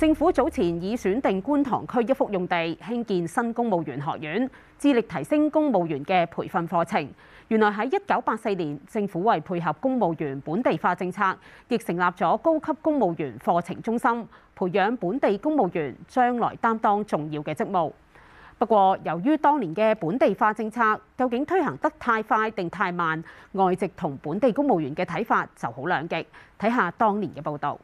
政府早前已選定觀塘區一幅用地興建新公務員學院，致力提升公務員嘅培訓課程。原來喺1984年，政府為配合公務員本地化政策，亦成立咗高級公務員課程中心，培養本地公務員將來擔當重要嘅職務。不過，由於當年嘅本地化政策究竟推行得太快定太慢，外籍同本地公務員嘅睇法就好兩極。睇下當年嘅報導。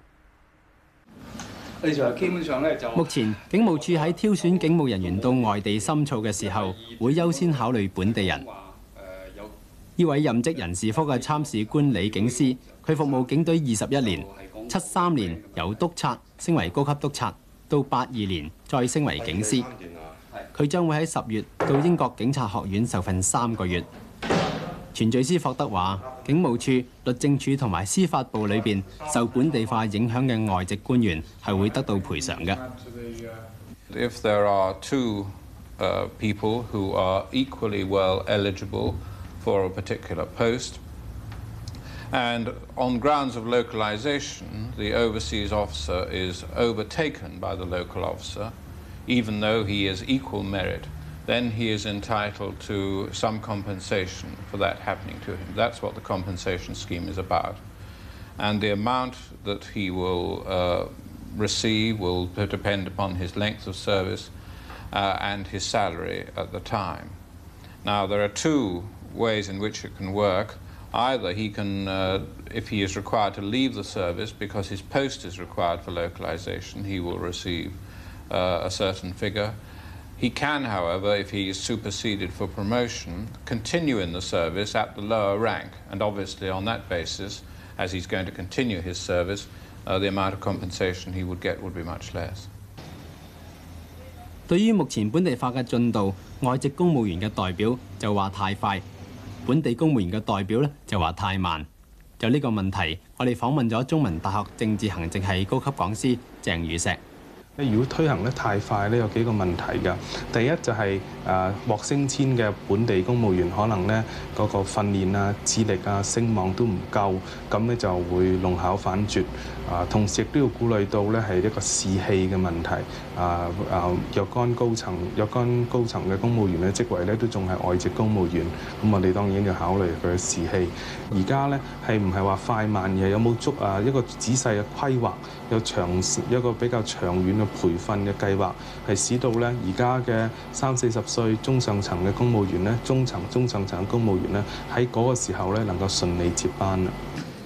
目前警務處喺挑選警務人員到外地深造嘅時候，會優先考慮本地人。呢位任職人事科嘅參事官李警司，佢服務警隊21年，73年由督察升為高級督察，到82年再升為警司。佢將會喺10月到英國警察學院受訓3個月。前敘師霍德話，警務處、律政處同埋司法部裏邊受本地化影響嘅外籍官員係會得到賠償嘅。 If there are two people who are equally well eligible for a particular post, and on grounds of localization, the overseas officer is overtaken by the local officer, even though he is equal merit, then he is entitled to some compensation for that happening to him. That's what the compensation scheme is about. And the amount that he will receive will depend upon his length of service and his salary at the time. Now, there are two ways in which it can work. Either he can, if he is required to leave the service because his post is required for localization, he will receive a certain figure. He can, however, if he is superseded for promotion, continue in the service at the lower rank. And obviously on that basis, as he's going to continue his service, the amount of compensation he would get would be much less. 對於目前本地化嘅進度，外籍公務員嘅代表就話太快，本地公務員嘅代表咧就話太慢。就呢個問題，我哋訪問咗中文大學政治行政系高級講師鄭宇碩。 如果推行得太快咧，有幾個問題㗎。第一就係獲升遷嘅本地公務員可能咧嗰個訓練啊、智力啊、聲望都唔夠，咁咧就會弄巧反拙。同時亦都要顧慮到咧係一個士氣嘅問題。若干高層嘅公務員嘅職位咧都仲係外籍公務員，咁我哋當然要考慮佢嘅士氣。而家咧係唔係話快慢，而係有冇一個仔細嘅規劃，有一個比較長遠嘅培訓嘅計劃，係使到咧而家嘅30-40歲中上層嘅公務員咧，中上層嘅公務員咧喺嗰個時候咧能夠順利接班啦。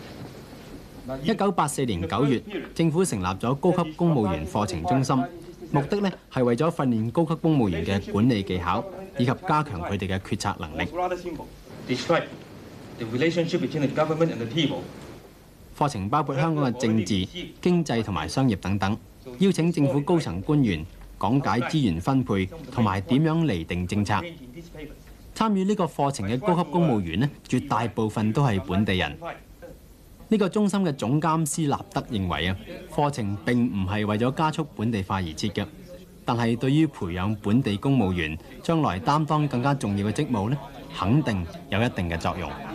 1984年9月，政府成立咗高級公務員課程中心，目的咧係為咗訓練高級公務員嘅管理技巧，以及加強佢哋嘅決策能力。課程包括香港嘅政治、經濟同埋商業等等，邀請政府高層官員講解資源分配同埋點樣釐定政策。參與呢個課程嘅高級公務員咧，絕大部分都係本地人。呢個中心嘅總監司納德認為啊，課程並唔係為咗加速本地化而設嘅，但係對於培養本地公務員將來擔當更加重要嘅職務咧，肯定有一定嘅作用。